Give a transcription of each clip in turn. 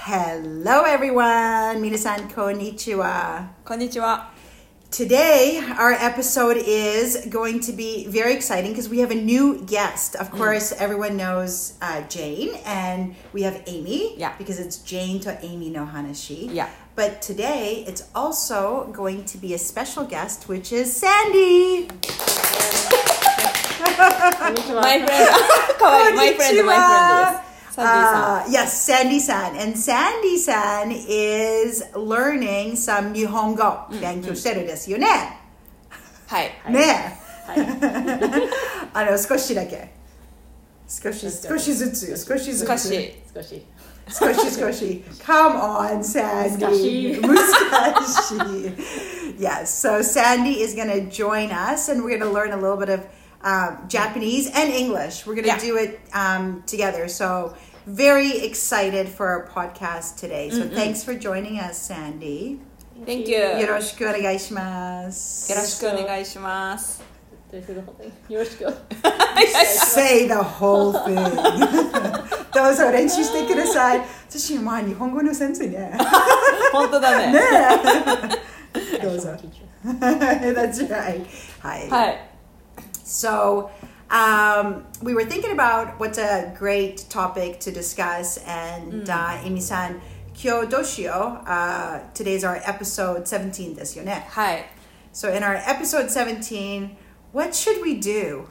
Hello everyone! 皆さんこんにちは。 こんにちは。 Today, our episode is going to be very exciting because we have a new guest. Of course, everyone knows Jane, and we have Amy, because it's Jane to Amy no Hanashi. Yeah. But today, it's also going to be a special guest, which is Sandy. My friend. かわいい。My friend です。Sandy-san. Yes, Sandy-san. And Sandy-san is learning some 日本語勉強してるんですよね。 はい。 ねえ。少しだけ。少しずつ。 少し。 Come on, Sandy. 難しい。Yes, so Sandy is going to join us and we're going to learn a little bit of Japanese and English. We're going to do it together. So very excited for our podcast today. So thanks for joining us, Sandy. Thank you. よろしくお願いします。 よろしくお願いします。 よろしく。 Say the whole thing. どうぞ練習してください。私は日本語の先生ね。 本当だね。 ねえ。どうぞ。That's right. はい。 はい。 So, we were thinking about what's a great topic to discuss, and Amy-san, 今日どうしよう? Today's our episode 17ですよね。 はい。 So, in our episode 17, what should we do?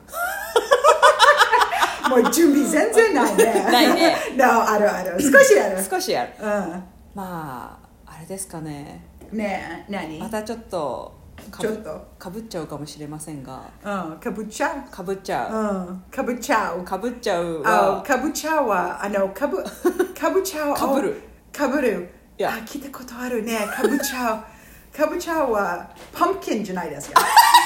もう準備全然ないね。 ないね。 No, ある。少しある。 少しある。まあ、あれですかね。 ねえ、何？ またちょっとかぶっちゃうかもしれませんが。 かぶっちゃうは。 かぶっちゃうは、 かぶちゃうは、かぶちゃう。かぶる。聞いたことあるね。かぶちゃうは、パンプキンじゃないですか。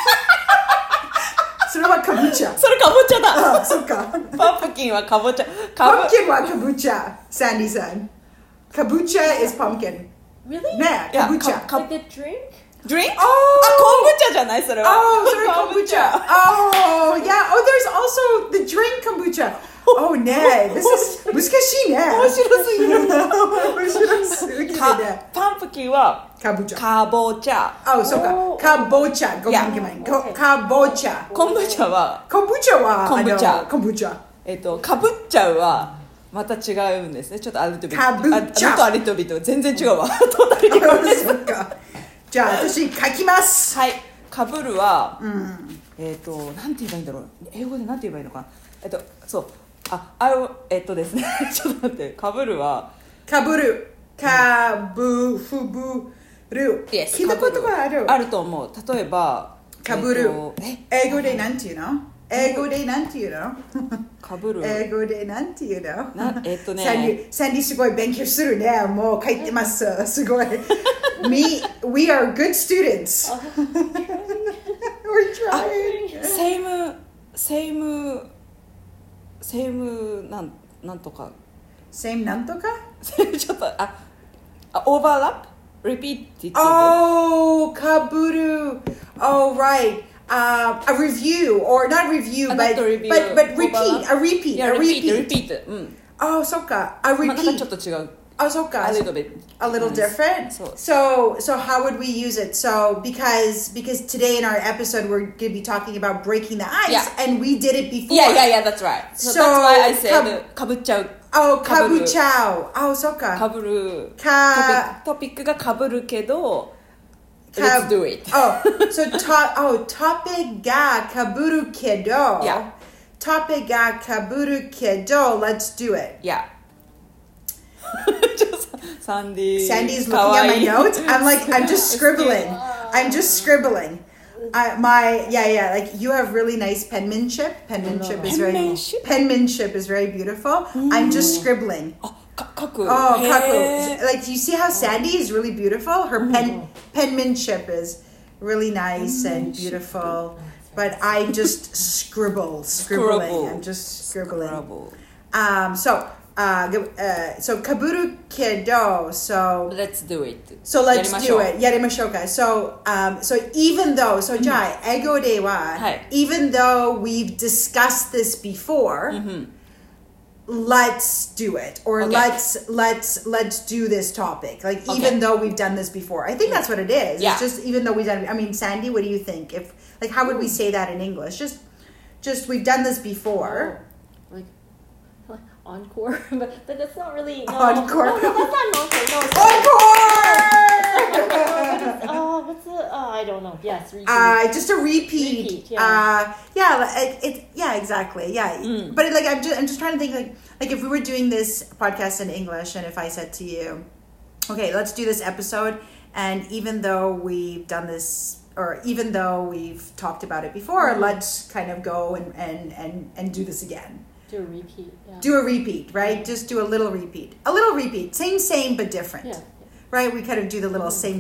それはかぼちゃ。 それかぼちゃだ。 そっか。 パンプキンはかぼちゃ。 パンプキンはかぼちゃ。Sandyさん。かぼちゃ is pumpkin. Really? ねえ、かぼちゃ。 Like the drink? Drink? あ、昆布茶じゃないそれは。 それ昆布茶。Oh, yeah. Oh, there's also the drink kombucha. Oh, ね。This is 難しいね。 面白すぎる。パンプキンはかぼちゃ。 かぼちゃ。 あ、そうか。かぼちゃ。ごめん。かぼちゃ。 昆布茶は。 昆布茶。 かぶっちゃうはまた違うんですね。ちょっとアリトビ。 かぶっちゃう。 アリトビと全然違うわ。トータル違う。 そっか。じゃあ私書きます。 はい。かぶるは、なんて言えばいいんだろう。英語でなんて言えばいいのかな。そう。ですね。ちょっと待って。かぶるは。 かぶる。かぶふぶる。聞いたことがある。 あると思う。例えば。 かぶる。英語でなんて言うの？かぶる。英語でなんて言うの？サンディすごい勉強するね。もう書いてます。すごい。We are good students. We're trying. Same なんとか。 Same なんとか？ ちょっとoverlap? Repeat. Oh, かぶる。Oh, right. A review, or not review, but repeat. A repeat. Oh, そっか。A repeat. なんかちょっと違う。 Oh, そっか。 A little bit. A little different. So how would we use it? So because today in our episode we're going to be talking about breaking the ice, and we did it before. Yeah, that's right. So that's why I said かぶっちゃう。 Oh, かぶっちゃう。Oh, そっか。 かぶる。トピックがかぶるけど。Let's do it. Topic がかぶるけど。 Yeah. Topic がかぶるけど。Let's do it. Yeah. Sandy's looking at my notes. I'm just scribbling. Like you have really nice penmanship. Penmanship is very beautiful. I'm just scribbling. Kaku. Like you see how Sandy is really beautiful? Her penmanship is really nice and beautiful. But I'm just scribbling. I'm just scribbling. So かぶるけど so let's do it. So let's do it. やりましょうか. So even though じゃあ英語では even though we've discussed this before let's do it, or let's do this topic, like even though we've done this before. I think that's what it is. Yeah. It's just even though we've done it. I mean, Sandy, what do you think? If like how would we say that in English? Just we've done this before. Like encore, but that's not really Encore. No, that's not encore. No, it's Encore. what's the? I don't know. Yes, repeat. Just a repeat. Yeah. Yeah, exactly. Yeah, but like I'm just trying to think like if we were doing this podcast in English, and if I said to you, okay, let's do this episode, and even though we've done this, or even though we've talked about it before, let's kind of go and do this again. Do a repeat. Yeah. Do a repeat, right? Just do a little repeat. A little repeat. Same but different. Yeah. Right? We kind of do the little same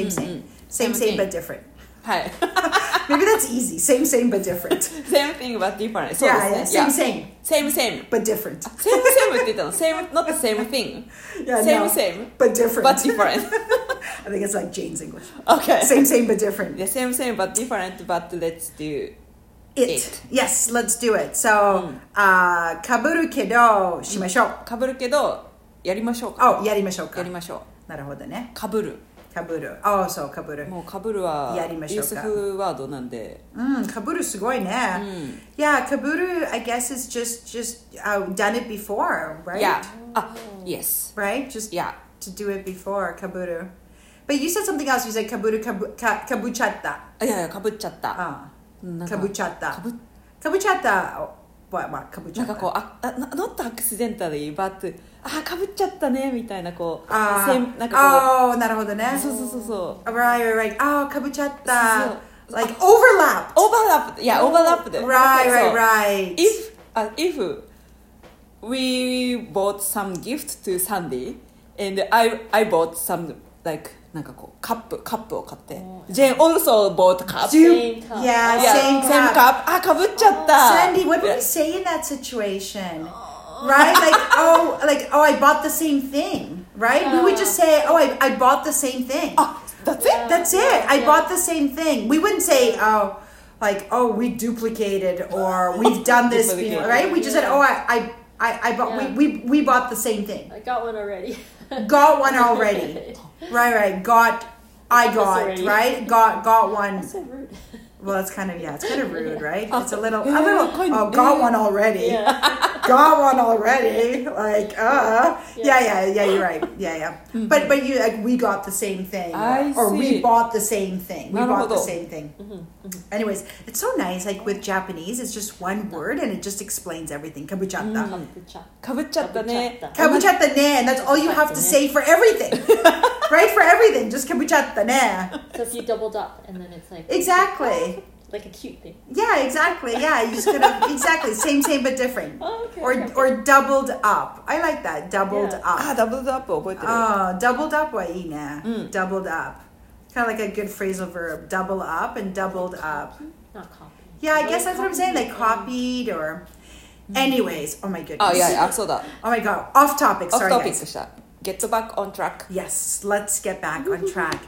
but different. はい Maybe that's easy. Same but different. Same thing but different そうですね Yeah, same. Same But different. Same って言ったの Same not the same thing Yeah, Same no, same but different. but different I think it's like Jane's English. Okay Same but different. Yeah, same but different but let's do It. Yes, let's do it. So, かぶるけどしましょう。 かぶるけどやりましょうか Oh, やりましょうか。 やりましょうなるほどね。 かぶるかぶる。Oh, そう、かぶる。 もうかぶるはやりましょうかユースフワードなんでかぶるすごいね。Yeah, かぶる I guess is just done it before, right? Yeah yes Right? Just Yeah to do it before, かぶる. But you said something else. You said かぶるかぶちゃった。 いやいやかぶっちゃったかぶちゃった。 かぶかぶちゃった。かぶちゃった。 なんかこうnot accidentally but かぶっちゃったねみたいなこうなんかこなるほどね。 うそう Right. かぶちゃった。 そう Like overlap. overlapped yeah overlapped Right. if we bought some gift to Sandy and I bought some like なんかこうカップを買って Jane also bought cup Same cup. Yeah, same cup かぶっちゃった Sandy, what would we say in that situation? Right? Like I bought the same thing. Right? We would just say, I bought the same thing. That's it That's it. I bought the same thing. We wouldn't say, we duplicated or we've done this before, right? We just said, I bought. We bought the same thing. I got one already. Got one already. Right. Got already. right. Got one. That's so rude. Well, it's kind of rude, right? It's a little. kind of- Got one already. Yeah. Got one already. Like, yeah. You're right. Yeah. But you like we got the same thing, I or we see. bought the same thing. We bought the なるほど。 same thing. Anyways, it's so nice. Like with Japanese, it's just one word and it just explains everything. Kabuchatta. かぶっちゃったね Kabuchatta ne, and that's all you have to say for everything. Right? For everything, just kabuchatta ne. So if you doubled up and then it's like Exactly. like a cute thing. Yeah, exactly. Yeah, you just could have exactly same but different. Oh, okay. Or doubled up. I like that. Doubled Yeah. up. ダブルアップ覚えてる Doubled up はいいね. Doubled up. Kind of like a good phrasal verb. Double up and doubled up. Not copy. Yeah, I guess that's what I'm saying. Like copied or. Anyways, oh my goodness. いやそうだ Oh my god. Off topic. オフ Sorry, トピッ guys. クした Get back on track Yes, let's get back on track.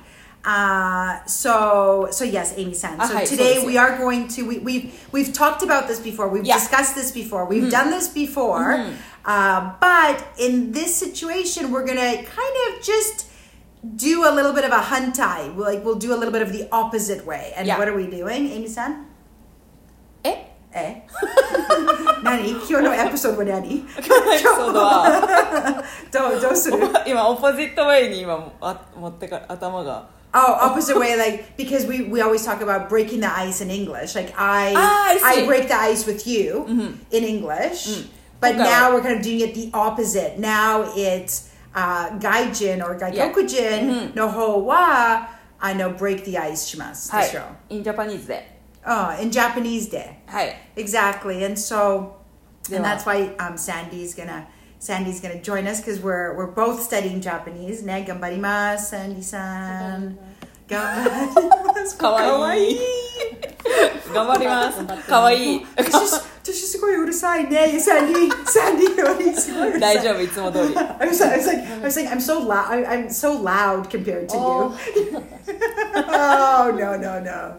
So yes, Amy-san. So Hi, today so we are going to we've talked about this before. We've Yeah. discussed this before. We've done this before. But in this situation, we're gonna kind of just do a little bit of a hantai. We'll do a little bit of the opposite way. And Yeah. what are we doing, Amy-san? え何今日のエピソードは何エピソードはどうする今オポジットウェイに今持ってか頭が Oh, opposite way, like because we always talk about breaking the ice in English. Like I see. I break the ice with you in English, but Okay. now we're kind of doing it the opposite. Now it's gaijin or gaikokujin no ho wa break the ice します。 はいでしょ。 インジャパニーズで in Japanese で。 はい Exactly, and so and では that's why Sandy's gonna join us because we're both studying Japanese. ね、頑張ります、Sandy-san. 頑張ります。 かわいい頑張りますかわいい私すごいうるさいね、Sandy よりすごいうるさい。 大丈夫いつも通り I was like, I'm so loud. I'm so loud compared to Oh. you. Oh no.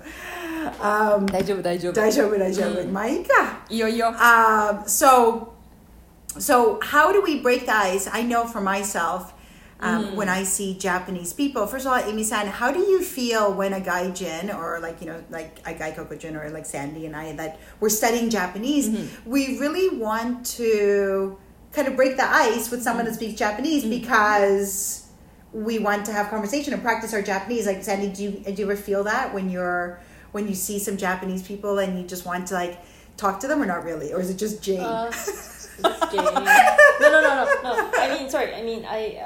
大丈夫大丈夫。まあいいか。 いいよいいよ So So how do we break the ice? I know for myself, when I see Japanese people, first of all, Amy-san, how do you feel when a gaijin or like a gaikokujin or like Sandy and I that we're studying Japanese, we really want to kind of break the ice with someone that speaks Japanese because we want to have conversation and practice our Japanese. Like Sandy, do you ever feel that when you see some Japanese people and you just want to like talk to them or not really? Or is it just Jane? Just Jane. No. I mean,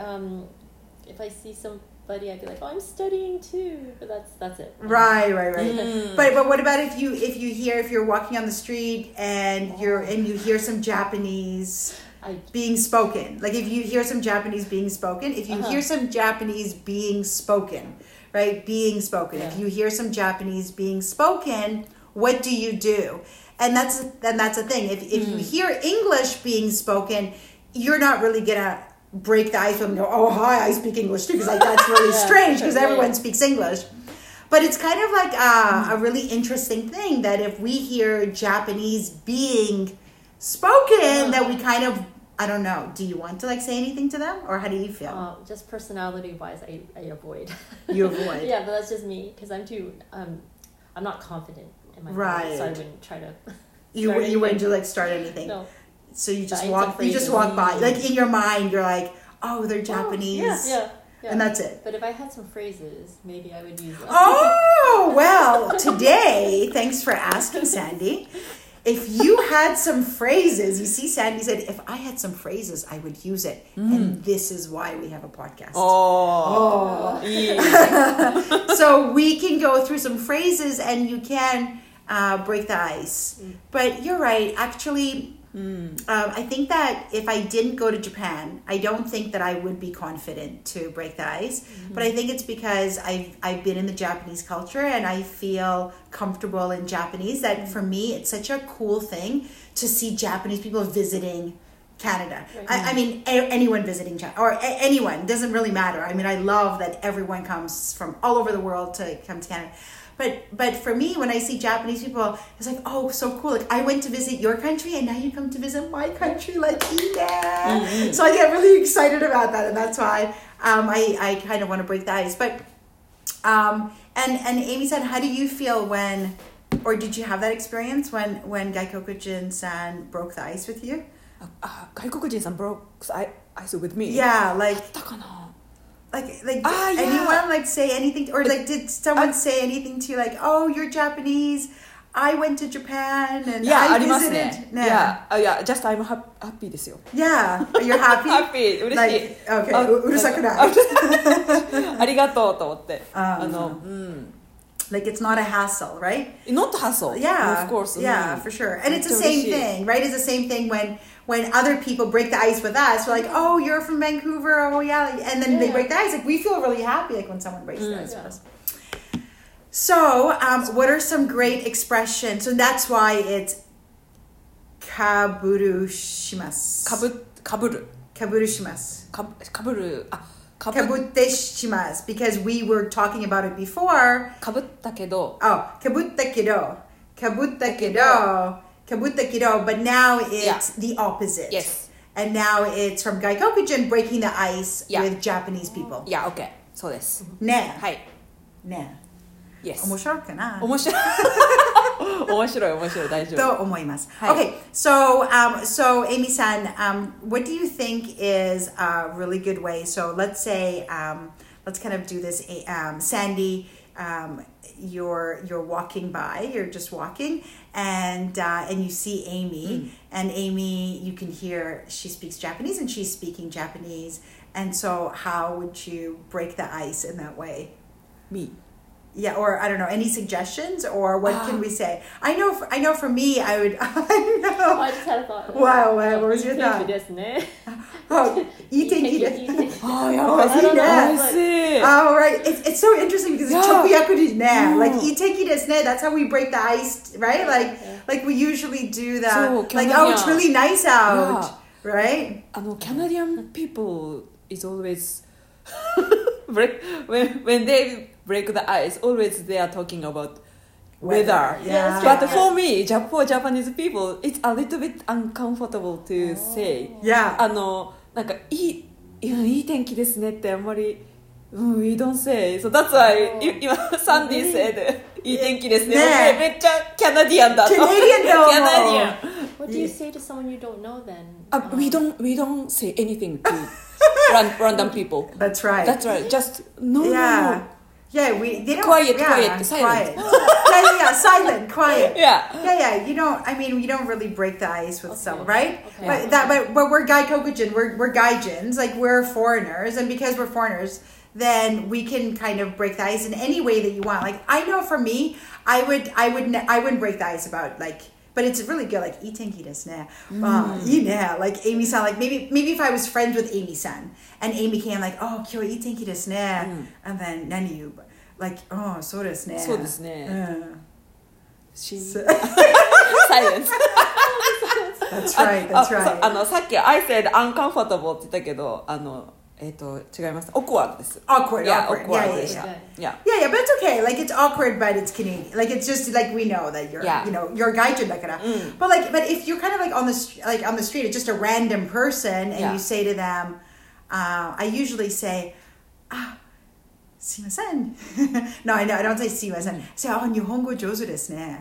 if I see somebody, I'd be like, oh, I'm studying too. But that's it. Right. But what about if you're walking on the street and you hear some Japanese being spoken? Like if you hear some Japanese being spoken, if you hear some Japanese being spoken, right? Being spoken. Yeah. If you hear some Japanese being spoken, what do you do? And that's the thing. If you hear English being spoken, you're not really gonna break the ice with them and go, oh hi, I speak English too, because like that's really strange because everyone speaks English. But it's kind of like a really interesting thing that if we hear Japanese being spoken, that we kind of, I don't know, do you want to like say anything to them or how do you feel? Just personality wise, I avoid. You avoid. Yeah, but that's just me because I'm not confident in my voice, so I wouldn't try to. You wouldn't like start anything. No. So you just walk by. Like in your mind, you're like, oh, they're Japanese. Yeah. And that's it. But if I had some phrases, maybe I would use them. Oh, well, today, thanks for asking, Sandy. If you had some phrases, you see, Sandy said, if I had some phrases, I would use it. And this is why we have a podcast. Oh. So we can go through some phrases and you can break the ice. But you're right. Actually, I think that if I didn't go to Japan, I don't think that I would be confident to break the ice. But I think it's because I've been in the Japanese culture and I feel comfortable in Japanese that for me, it's such a cool thing to see Japanese people visiting Canada. Right. I mean, anyone visiting China or anyone, doesn't really matter. I mean, I love that everyone comes from all over the world to come to Canada. But for me, when I see Japanese people, it's like, oh, so cool. Like I went to visit your country and now you come to visit my country, like yeah. So I get really excited about that, and that's why I kind of want to break the ice. But and Amy said, how do you feel when, or did you have that experience when Gaikokujin-san broke the ice with you? Gaikokujin-san broke the ice with me. Yeah, like anyone like say anything, or like did someone say anything to you like, oh, you're Japanese, I went to Japan and I visited. just I'm happy ですよ。 Yeah, you're happy? Happy, 嬉しい。 Like, okay, うるさくない。 ありがとうと思って。 Like it's not a hassle, right? Not hassle. Yeah, of course. Yeah, for sure. And it's the same thing, right? It's the same thing when other people break the ice with us. We're like, oh, you're from Vancouver. Oh, yeah. And then they break the ice. Like we feel really happy like when someone breaks the ice with us. So, what are some great expressions? So that's why it's kaburu shimasu. Kaburu shimasu. Kaburu. Kabutte shimasu, because we were talking about it before. かぶったけど。 Oh, kabutta kedo. But now it's the opposite. Yes. And now it's from Gaikokujin breaking the ice with Japanese people. Yeah, okay. そうです。 ね。 はい。 ね。 Yes. 面白いかな？ 面白い大丈夫。 と思います。Okay, so Amy-san, what do you think is a really good way? So let's say, let's kind of do this. Sandy, you're walking by. You're just walking, and you see Amy, and Amy, you can hear she speaks Japanese, and she's speaking Japanese. And so, how would you break the ice in that way? Me. Yeah, or I don't know, any suggestions, or what can we say? I know for me, I would. I know. I just had a thought. Wow, what was your thought? いい天気ですね。Oh, yeah, I see. Oh, right. It's so interesting because it's 直訳ですね. Like いい天気ですね. That's how we break the ice, right? Like we usually do that. Like, oh, it's really nice out, right? Canadian people is always when they break the ice, always they are talking about weather. Yeah. But for me, for Japanese people, it's a little bit uncomfortable to say. Yeah. なんかいい天気ですねってあんまり、we don't say. So that's why 今サンディ said いい天気ですね。 ねめっちゃキャナディアンだと。 Canadian だもん。 キャナディアン。 What do you say to someone you don't know then? We don't say anything to random people. That's right. That's right. Just no. Yeah. Yeah, they don't. Quiet, yeah, quiet, silent. yeah, silent, quiet. Yeah. Yeah. You don't. I mean, we don't really break the ice with someone, right? Okay. But we're Gaikokujin. We're Gaijins. Like we're foreigners, and because we're foreigners, then we can kind of break the ice in any way that you want. Like I know for me, I wouldn't break the ice about like. But it's really good, like, いい天気ですね. You know, like, Amy-san, like, maybe if I was friends with Amy-san, and Amy came, like, oh, 今日いい天気ですね. And then, 何言う? Like, oh, そうですね. そうですね。 Silence. That's right, that's right. さっき I said uncomfortable って言ったけど、違います。awkward です。 Awkward. Yeah, Yeah, awkward. yeah. Yeah, but it's okay. Like it's awkward, but it's Canadian. Like it's just like we know that you're, you're gaijin だから. But if you're kind of like on the street, it's just a random person, and you say to them, I usually say, すいません. No, I don't say すいません. I say, 日本語上手ですね.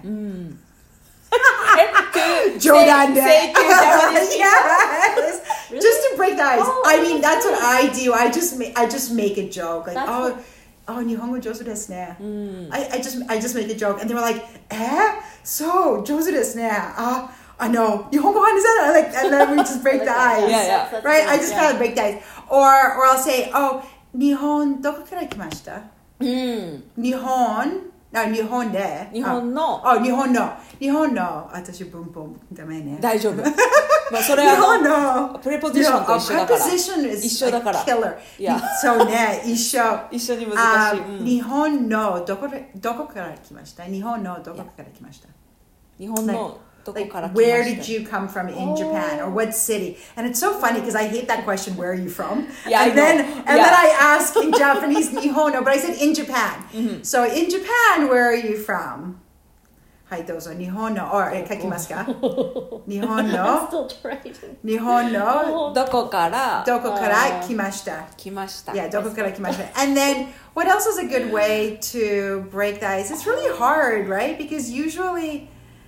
冗談で. Say to Japanese Yes. Just to break the ice. I mean, that's what I do. I just make a joke. Like,日本語上手ですね. I just make a joke. And they were like, そう、上手ですね. I know. 日本語話せない. Like, and then we just break the ice. Yeah. Right? I just kind of break the ice. Or I'll say, 日本どこから来ました? 日本で。 日本の。 日本の。私文法ダメね。 大丈夫。まあそれはプレポジションと一緒だから。一緒だから。 そうね、一緒に難しい。 日本のどこから来ました？日本のどこから来ました？ 日本のどこから来ました？ Where did you come from in Japan, or what city? And it's so funny because I hate that question. Where are you from? Yeah, and then I ask in Japanese, 日本の, but I said in Japan. So in Japan, where are you from? はいどうぞ日本の書きますか？日本の I'm still trying. 日本のどこから来ました？ Yeah, どこから来ました? And then what else is a good way to break the ice? It's really hard, right? Because usually,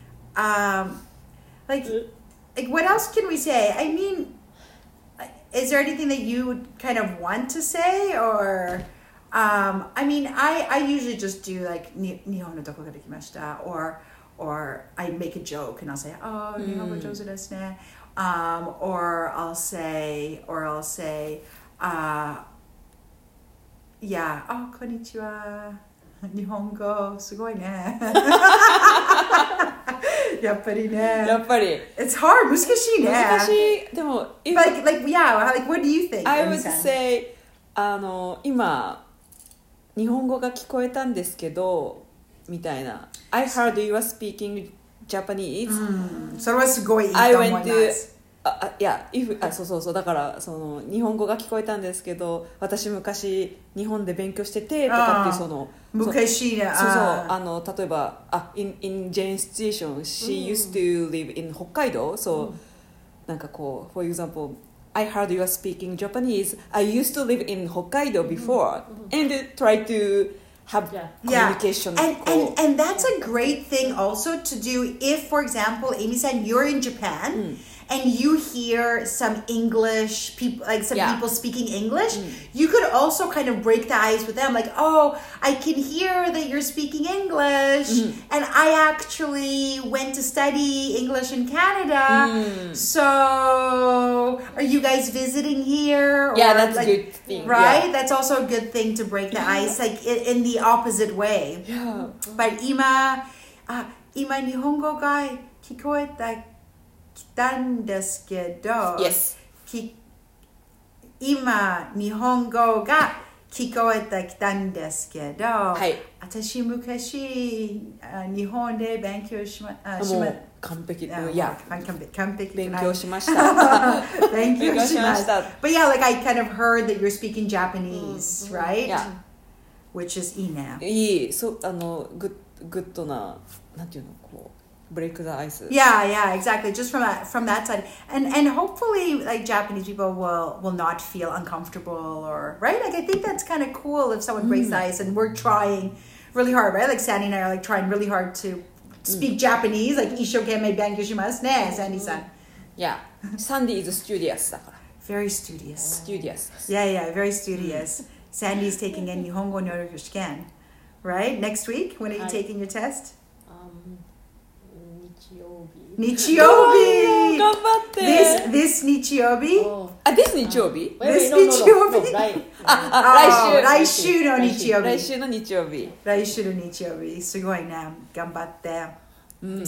like what else can we say? I mean, is there anything that you would kind of want to say, or I mean, I usually just do like 日本のどこから来ました? Or I make a joke and I'll say, 日本語上手ですね. Or I'll say, yeah, こんにちは. 日本語すごいね. やっぱりね. It's hard. 難しいね. 難しい。でも、 like what do you think? I would say 今日本語が聞こえたんですけどみたいな。I heard you were speaking Japanese. それはすごいいいと思います。 そうだからその日本語が聞こえたんですけど私昔日本で勉強しててとかっていうその昔ね例えばin Jane's situation she used to live in 北海道soなんかこう for example I heard you are speaking Japanese I used to live in Hokkaido before and try to have communication and that's a great thing also to do if for example Amy said you're in Japan and you hear some English people, like some people speaking English, you could also kind of break the ice with them. Like, I can hear that you're speaking English, and I actually went to study English in Canada. So, are you guys visiting here? Or, that's a good thing. Right? That's also a good thing to break the ice, like in the opposite way. Yeah. But 今日本語が聞こえた来たんですけど、 yes. 今日本語が聞こえてきたんですけど、私昔日本で勉強しま完璧勉強しました勉強しました But yeah, like I kind of heard that you're speaking Japanese, right? Yeah. Which is いいね。 いい、そうgood グッドななんていうのこうブレイク the ice. Yeah, exactly. Just from that side, and hopefully, like Japanese people will not feel uncomfortable or right. Like I think that's kind of cool if someone breaks the ice, and we're trying really hard, right? Like Sandy and I are like trying really hard to speak Japanese, like 一生懸命勉強しますね, Sandy-san. Yeah, Sandy is studious だから Very studious. studious. Yeah, very studious. Sandy's taking a 日本語能力試験, right? Next week, when are you taking your test? 日曜日頑張って This 日曜日 this 日曜日 This 日曜日来週の日曜日来週の日曜日来週の日曜日すごいね頑張って and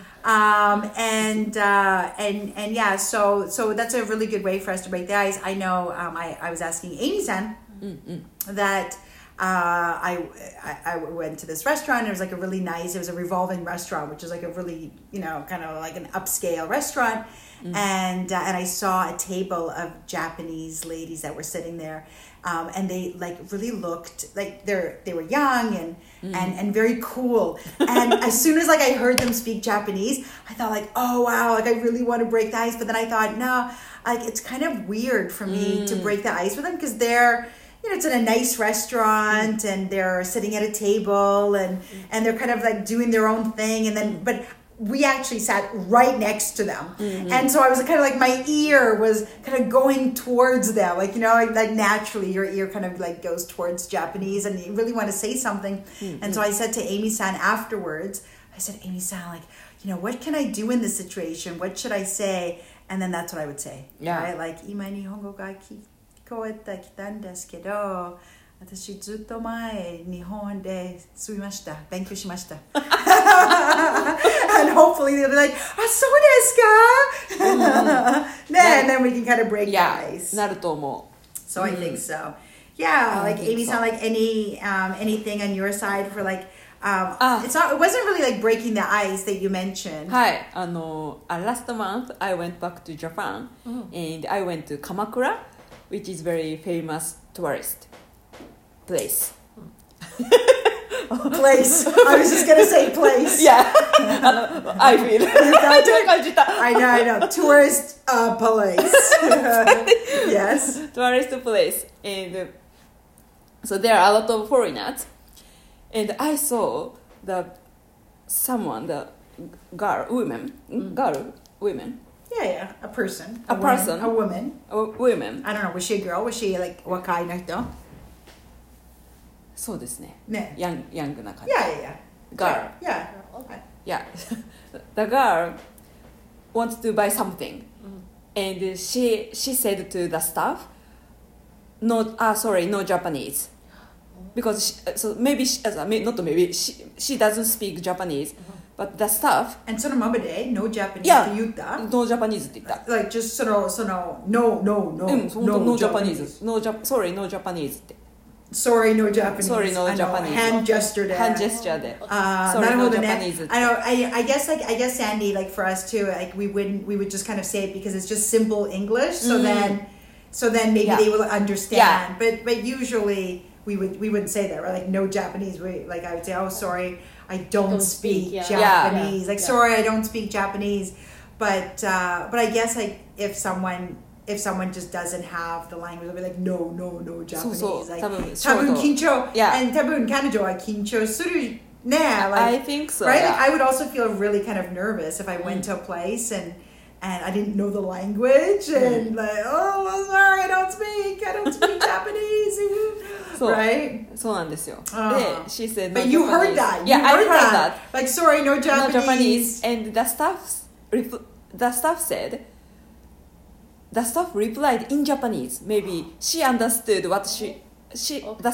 yeah so that's a really good way for us to break the ice. I know I was asking Amy-san that I went to this restaurant. And it was like a really nice, it was a revolving restaurant, which is like a really, kind of like an upscale restaurant. And I saw a table of Japanese ladies that were sitting there. And they like really looked like they were young and very cool. And as soon as like I heard them speak Japanese, I thought like, oh wow, like I really want to break the ice. But then I thought, no, like it's kind of weird for me to break the ice with them because they're, it's in a nice restaurant and they're sitting at a table and they're kind of like doing their own thing. And then, but we actually sat right next to them. And so I was kind of like, my ear was kind of going towards them. Like, like naturally your ear kind of like goes towards Japanese and you really want to say something. And so I said to Amy-san afterwards, I said, Amy-san, like, what can I do in this situation? What should I say? And then that's what I would say. Yeah. Right? Like, 今日本語が聞こえてきたんですけど、私ずっと前日本で住みました。勉強しました。And hopefully they'll be like, あ、そうですか? And then we can kind of break the ice. なると思う。 So I think so. Yeah, like Amy-san, like anything on your side for like, it wasn't really like breaking the ice that you mentioned. はい、last month I went back to Japan and I went to Kamakura, which is very famous tourist place. Place. I was just gonna say place. Yeah, I feel. I know. Tourist place. Yes. Tourist place, and so there are a lot of foreigners, and I saw the women. Yeah, a person. A person. A woman. Women. I don't know. Was she a girl? Was she like 若い人? そうですね。 ね。 ヤングな感じ。 Yeah. Girl. Yeah. Yeah. The girl wants to buy something, and she said to the staff, no Japanese, because she doesn't speak Japanese, but the staff. And そのままで no Japanese って言った? No Japanese って言った。 Like just その no Japanese. No Japanese って。 Sorry, no Japanese. Sorry, no Japanese. Hand gesture で。 Hand gesture で。 Sorry, no Japanese. I know. I guess Sandy, like for us too, like we would just kind of say it because it's just simple English. So then maybe they will understand. Yeah. But usually we wouldn't say that, right? Like no Japanese. Like I would say, oh sorry, I don't speak Japanese. Yeah. Like sorry, I don't speak Japanese. But I guess like if someone just doesn't have the language, they'll be like, no, Japanese. Like, 多分緊張. And 多分彼女は緊張するね. Like, I think so. Right? Yeah. Like, I would also feel really kind of nervous if I went to a place and I didn't know the language and like, oh, sorry, I don't speak Japanese. Right? そうなんですよ。で、she said no But you Japanese. heard that. Yeah, I heard that. Like, sorry, no Japanese. No Japanese. And the staff replied in Japanese. Maybe she understood what the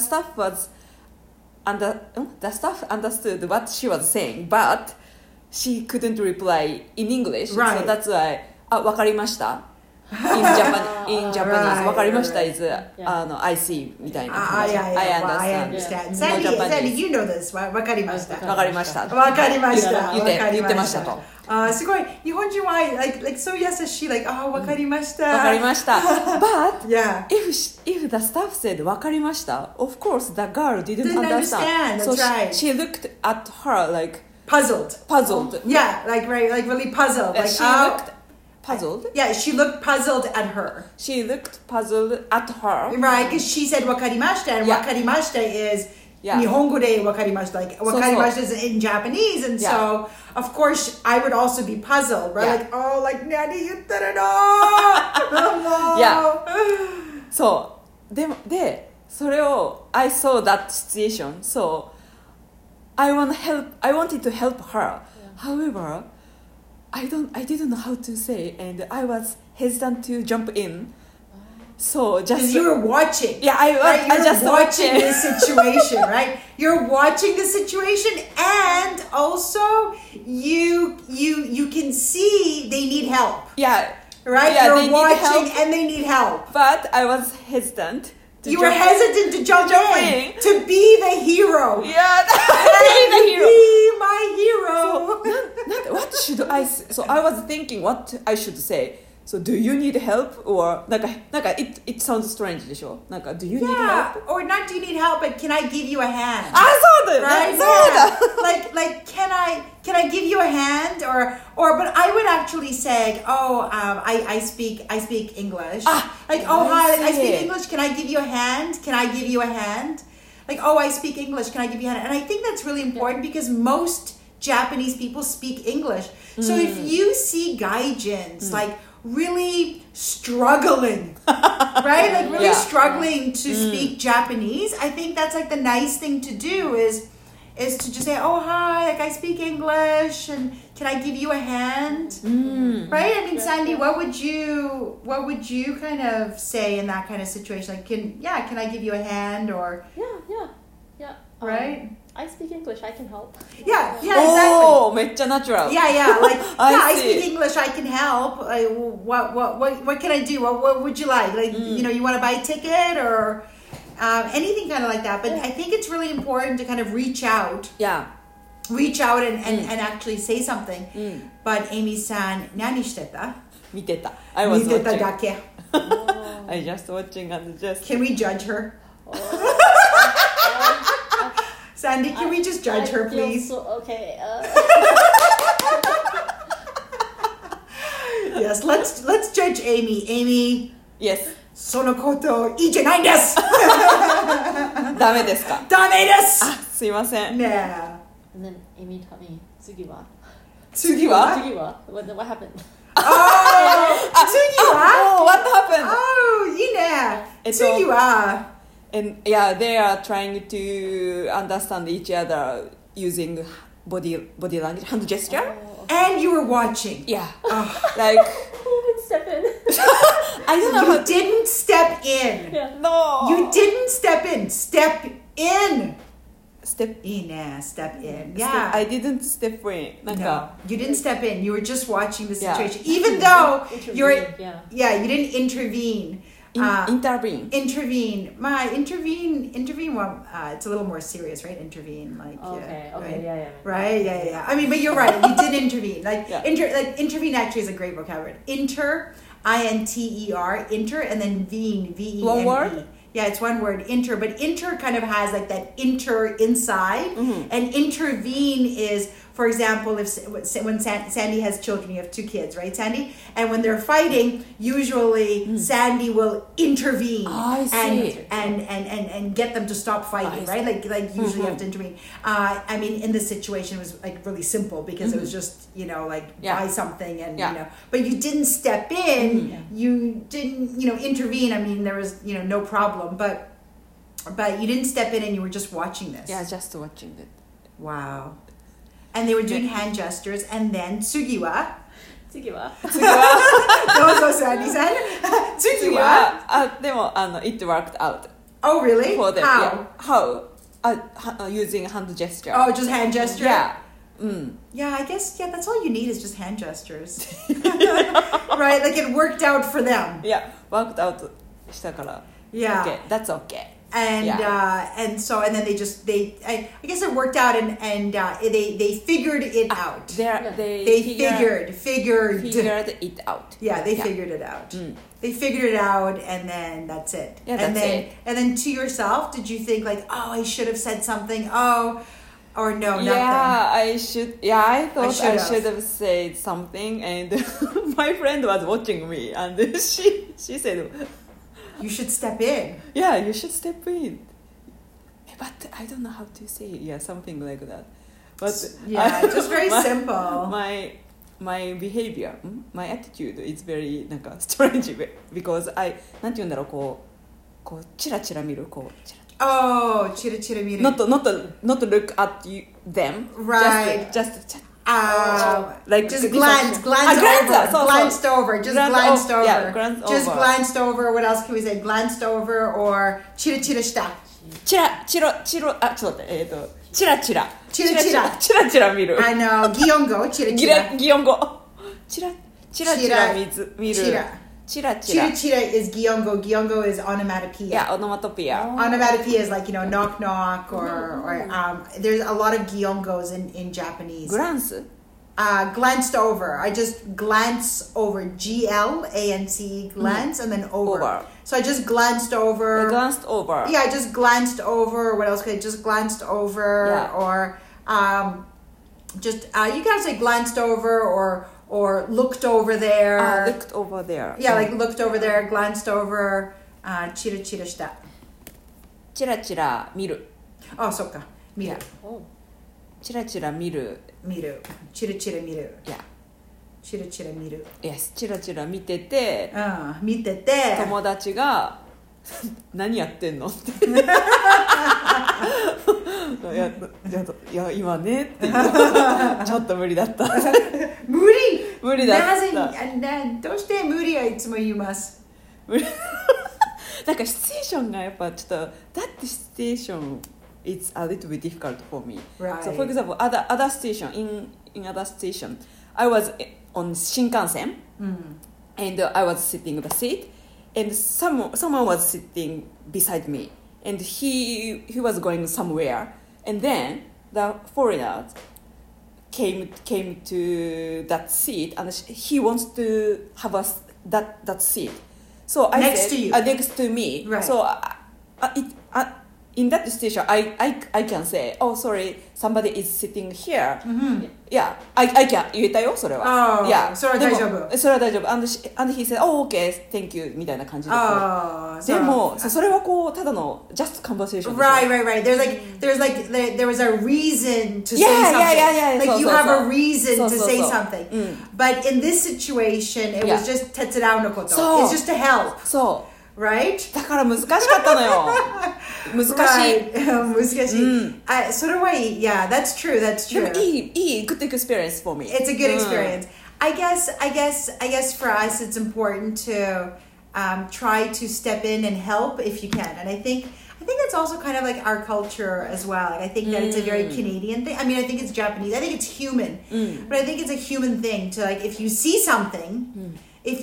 staff understood what she was saying, but she couldn't reply in English. Right. So that's why, わかりました in Japanese わかりました is Yeah. I see みたいな Ah, yeah, yeah. Well, I understand. understand. No Sandy, Japanese. you know this. わかりました。 わかりましたわかりました。 言ってましたと。 すごい。日本人は like so 優しい like わかりました。 わかりました But Yeah. if the staff said わかりました Of course the girl didn't Didn't understand, So that's right. she looked at her like Puzzled. Yeah, like right, like really puzzled. Like She looked puzzled Yeah, she looked puzzled at her. She looked puzzled at her Right, because she said わかりました and Yeah. わかりました is Yeah. 日本語でわかりました like わかりました is in Japanese and Yeah. so of course I would also be puzzled, right? Yeah. Like like 何言ってるの Yeah. そうでそれを I saw that situation so I wanted to help her however I didn't know how to say and I was hesitant to jump in so just Because you were watching. Yeah, right? I You're just watching watching. this situation, right? You're watching the situation, and also you can see they need help, Yeah, right? Yeah, they You're need watching, help. and they need help. but I was hesitant. You were hesitant to jump in, in. to be the hero. Yeah, And the hero. Be my hero. What should I say? So I was thinking what I should say. So do you need help or なんか it sounds strange でしょなんか do you need Yeah, help? or not do you need help, but can I give you a hand? あ、そうだよね。 Right? そうだ。 Yeah. like can I give you a hand or but I would actually say I speak English. Like hi, like, I speak English. Can I give you a hand? Can I give you a hand? Like I speak English. Can I give you a hand? And I think that's really important because most Japanese people speak English. So if you see gaijins like really struggling, right? Like really Yeah. struggling to speak Japanese. I think that's like the nice thing to do is to just say, "Oh hi, like I speak English, and can I give you a hand?" Right? I mean, Sandy, what would you kind of say in that kind of situation? Like, can I give you a hand or Yeah. right? I speak English. I can help. Yeah, exactly. おー、めっちゃナチュラル。 Yeah, like I I see. speak English. I can help. Like, what can I do? What would you like? Like, you want to buy a ticket or anything kind of like that. But I think it's really important to kind of reach out Yeah. and actually say something. But Amy-san, 何してた? 見てた。I was 見てた watching. だけ. I just watching and just. Can we judge her? Sandy, can we just judge her, I feel please? okay. Yes, let's judge Amy. Amy, Yes. そのこといいじゃないんです。 ダメですかダメです。 あ、すいません。 ね And then Amy taught me 次は? 次は次は? What happened? 次は Oh, what happened? Oh, いいね。次は And yeah, they are trying to understand each other using body language, hand gesture. And you were watching. Yeah. Like, Who would step in? I don't know how You didn't step in. Yeah. No. You didn't step in. Step in. Step. いいね。Step in. Step. Yeah. I didn't step in. なん No, か you didn't step in. You were just watching the Yeah. situation. Even though you're, Yeah. you didn't intervene. intervene. Intervene. Well, it's a little more serious, right? Intervene, like Okay. right? Yeah. Right, yeah. I mean, but you're right. You did intervene. Like Yeah. intervene actually is a great vocabulary. Inter, INTER, inter, and then vene, VENE. One word? Yeah, it's one word, inter. But inter kind of has like that inter inside, and intervene is, for example, when Sandy has children, you have two kids, right, Sandy? And when they're fighting, usually Sandy will intervene I see. and get them to stop fighting, right? Like usually you have to intervene. I mean, in this situation, it was like really simple because it was just buy something and but you didn't step in, you didn't intervene. I mean, there was no problem, but you didn't step in and you were just watching this. Yeah, just watching it. Wow. And they were doing hand gestures, and then 次は? 次は? どうぞ、Sandy-san. 次は? でもit worked out. Oh, really? For them. How? Yeah. How? Using hand gesture. Oh, just hand gesture? Yeah. Yeah, I guess, that's all you need is just hand gestures. Right? Like it worked out for them. Yeah, worked out したから。 Yeah. Okay, that's okay. And and then I guess it worked out and they figured it out. They figured it out. Yeah, they figured it out. They figured it out, and then that's it. Yeah, and that's then it. And then to yourself, did you think like, oh, I should have said something? Oh, or no, nothing. Yeah, I should. Yeah, I thought I should have said something, and my friend was watching me, and she said, "You should step in." Yeah, you should step in. But I don't know how to say it. Yeah, something like that. But just very simple. My behavior, my attitude is very なんか strange because I なんて言うんだろうこうチラチラ見るこうチラ Oh, chira chira miru. Not to look at them. Right. Just like just glanced over. Yeah, glanced over. Just glanced over. What else can we say? Glanced over or chira chira shita. チラちょっと待ってチラチラ見る。 I know. Giongo. Chira chira. 擬音語。チラ見る。Chira is Giongo. Giongo is onomatopoeia. Yeah, onomatopoeia. Onomatopoeia is like, knock knock or there's a lot of Giongos in Japanese. Glance? Glanced over. I just glance over. Glance, glance, and then over. So I just glanced over. Yeah, I just glanced over. What else could I just glanced over? Yeah. Or just you can say glanced over or looked over there. Looked over there. Yeah, like looked over there, glanced over, チラチラした。 チラチラ見る。 あ、そっか。見る。 チラチラ見る。 チラチラ見る。 Yeah. チラチラ見る。 Yes, チラチラ見てて、 見てて、 友達が何やってんのって。いや今ねってちょっと無理だった。無理だった。 どうして無理はいつも言います。 なんかシチュエーションがやっぱちょっとthat situation it's a little bit difficult for me. Right. So for example, other station in other station, I was on Shinkansen, and I was sitting in the seat, and someone was sitting beside me, and he was going somewhere, and then the foreigner came to that seat, and he wants to have that seat. So I next said, to you, next to me. Right. So in that situation, I can say, oh sorry, somebody is sitting here. Yeah, I can 言えたよそれは。 Yeah, それは大丈夫。 それは大丈夫。And he said, oh okay, thank you みたいな感じで。でもそれはこうただの just conversation。 Right. There was a reason to say something. Yeah. Like you have a reason to say something. But in this situation, it was just 手伝うのこと。It's just to help. そう。 Right? だから難しかったのよ。難しい。 難しい。それはいい。Yeah, that's true. でもいい good experience for me. It's a good experience. I guess for us it's important to try to step in and help if you can. And I think that's also kind of like our culture as well. Like I think that it's a very Canadian thing. I mean, I think it's Japanese. I think it's human. But I think it's a human thing to like if you see something,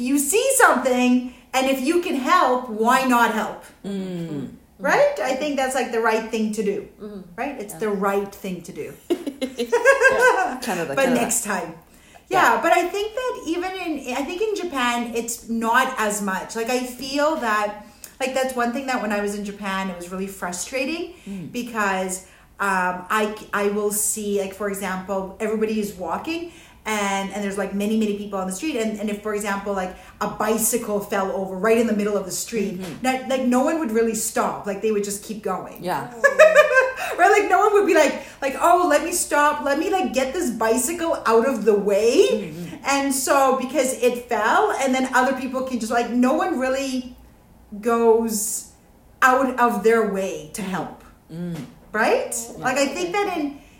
and if you can help, why not help? Right? I think that's like the right thing to do. Right? It's the right thing to do. Canada. Next time. Yeah, but I think that in Japan, it's not as much. Like I feel that, like that's one thing that when I was in Japan, it was really frustrating because I will see, like for example, everybody is walking and there's like many people on the street and if for example like a bicycle fell over right in the middle of the street, like no one would really stop, like they would just keep going. Yeah. Right, like no one would be like oh, let me stop, let me like get this bicycle out of the way. And so because it fell and then other people can just like no one really goes out of their way to help. Right? Like I think that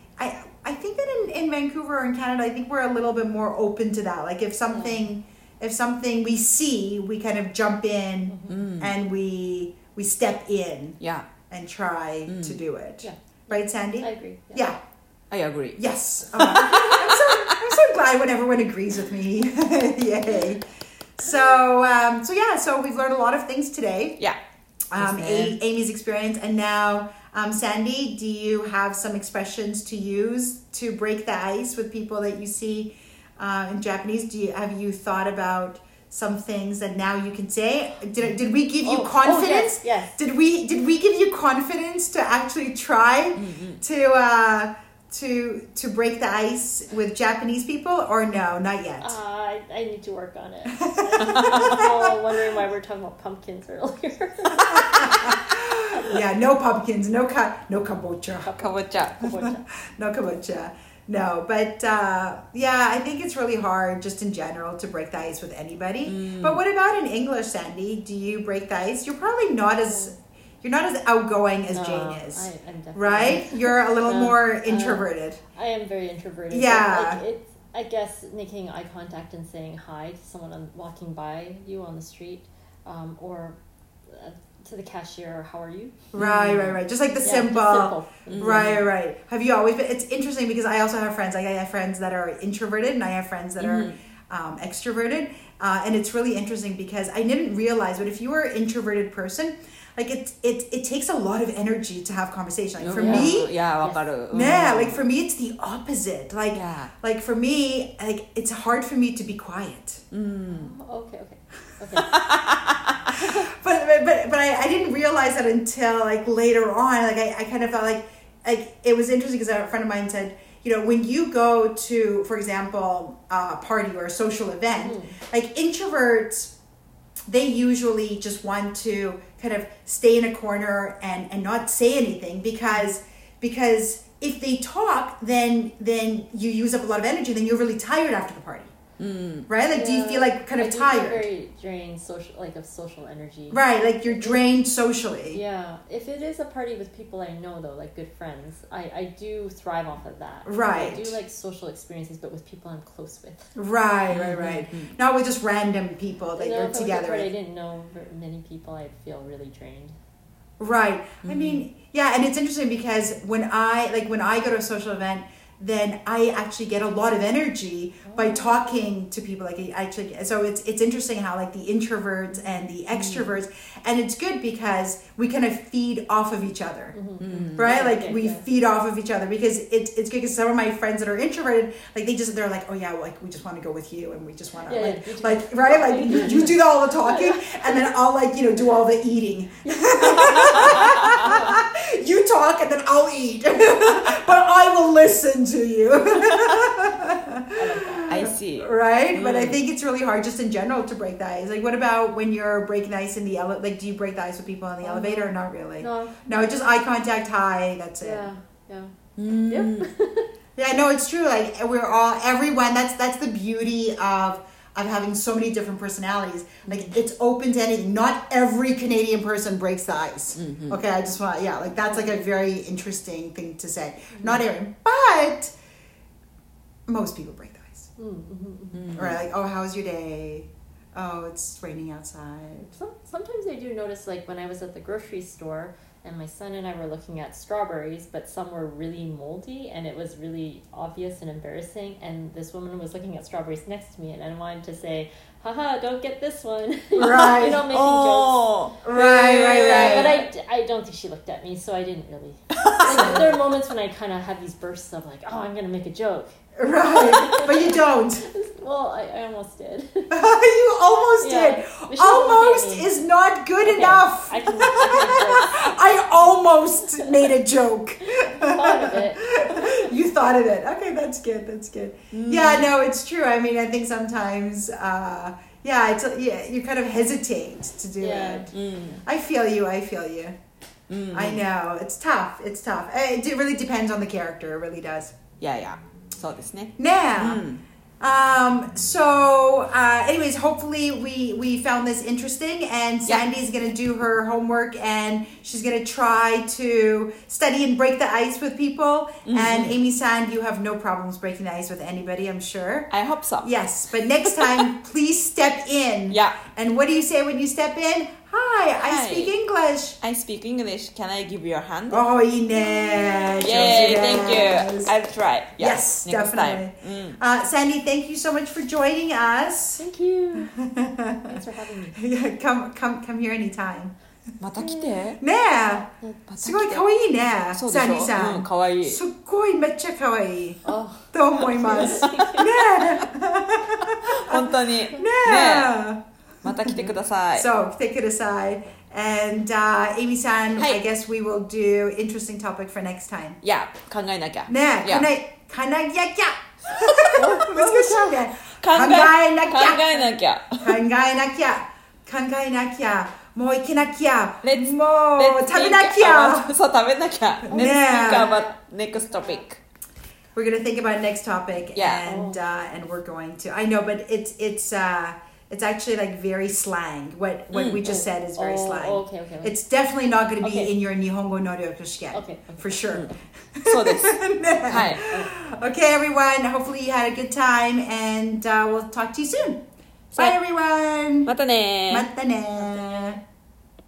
in Vancouver or in Canada, I think we're a little bit more open to that. Like if something we see, we kind of jump in and we step in and try to do it. Yeah. Right, Sandy? I agree. Yeah. I agree. Yes. I'm so glad when everyone agrees with me. Yay. So we've learned a lot of things today. Yeah. Amy's experience, and now Sandy, do you have some expressions to use to break the ice with people that you see in Japanese? Have you thought about some things that now you can say? Did we give you confidence? Yes. Did we give you confidence to actually try to break the ice with Japanese people, or no, not yet? I need to work on it. I'm wondering why we're talking about pumpkins earlier. Yeah, no pumpkins, no kabocha. Kabocha. No kabocha. No, but I think it's really hard just in general to break the ice with anybody. But what about in English, Sandy? Do you break the ice? You're probably not as outgoing as Jane is. I'm definitely right? You're a little more introverted. I am very introverted. Yeah. I guess making eye contact and saying hi to someone walking by you on the street, or to the cashier, how are you? Right. Just like the simple. Just simple. Right. Have you always been? It's interesting because I also have friends. Like I have friends that are introverted, and I have friends that are extroverted. And it's really interesting because I didn't realize, but if you are an introverted person, like it takes a lot of energy to have conversation. Like for me, like for me, it's the opposite. Like for me, like it's hard for me to be quiet. Okay. But I didn't realize that until like later on. Like I kind of felt like it was interesting because a friend of mine said, you know, when you go to, for example, a party or a social event, like introverts, they usually just want to kind of stay in a corner and not say anything because if they talk, then you use up a lot of energy, then you're really tired after the party. Right? Like, do you feel like kind of tired? Very drained of social energy. Right, like you're drained socially. Yeah. If it is a party with people I know, though, like good friends, I do thrive off of that. Right. I do like social experiences, but with people I'm close with. Right. Not with just random people that you're together with. I didn't know many people, I'd feel really drained. Right. I mean, yeah, and it's interesting because when I go to a social event, then I actually get a lot of energy by talking to people. So it's interesting how like the introverts and the extroverts, and it's good because we kind of feed off of each other, right? Like we feed off of each other because it's good because some of my friends that are introverted, like they're like, oh yeah, like we just want to go with you and we just want to you do all the talking and then I'll do all the eating. You talk and then I'll eat, but I will listen to you. I see. Right? But I think it's really hard just in general to break the ice. Like, what about when you're breaking the ice in the elevator? Like, do you break the ice with people in the elevator or not really? No, just eye contact, hi, that's it. Yeah. Yep. Yeah, no, it's true. Like, everyone, that's the beauty of having so many different personalities. Like, it's open to anything. Not every Canadian person breaks the ice. Okay, I just want, that's like a very interesting thing to say. Not every, but most people break the ice. Right, like, oh, how's your day? Oh, it's raining outside. Sometimes I do notice, like, when I was at the grocery store, and my son and I were looking at strawberries, but some were really moldy, and it was really obvious and embarrassing. And this woman was looking at strawberries next to me, and I wanted to say, haha, don't get this one. Right. Making jokes. Right. But I don't think she looked at me, so I didn't really. Like, there are moments when I kind of have these bursts of like, oh, I'm going to make a joke. Right. But you don't. Well, I almost did. You almost did. Almost is not good enough. I almost made a joke. Thought of it. You thought of it. Okay, that's good. Yeah, no, it's true. I mean, I think sometimes, you kind of hesitate to do it. I feel you. I know. It's tough. It really depends on the character. It really does. Yeah. そうですね。 Yeah. Anyways, hopefully we found this interesting, and Sandy's going to do her homework and she's going to try to study and break the ice with people. And Amy Sand, you have no problems breaking the ice with anybody, I'm sure. I hope so. Yes, but next time, please step in. Yeah. And what do you say when you step in? Hi, I Hi. speak English. I speak English. Can I give you a hand? Oh, いいね。 Yay, thank Yes. you. I'll try. Yes, next definitely. time. Sandy, thank you so much for joining us. Thank you. Thanks for having me. Yeah, come here anytime. また来て。 ねえ、 また来てすごい可愛いね、 そうでしょサンディさん。 うん、かわいい。 すっごいめっちゃ可愛い Oh, と思います。ね本当に。ねえ、ねえ。 また来てください。 So, 来てください。And Amy-san, はい I guess we will do interesting topic for next time. いや、考えなきゃ。 ねえ、 いやかなぎゃきゃ。難しいね。 考考えなきゃ。 考えなきゃ。 考えなきゃ。考えなきゃ。もう行けなきゃ。 Let's- もう Let's 食べな think きゃ。 about- そう、食べなきゃ。Let's ね think about next topic. We're gonna think about next topic, Yeah. and we're going to. I know, but it's actually like very slang. What we just said is very slang. Okay. It's definitely not going to be Okay. in your Nihongo no Ryoku Shiken. Okay. For sure. そうです。はい。 Okay, everyone. Hopefully you had a good time, and we'll talk to you soon. Bye, everyone. またねー。 またね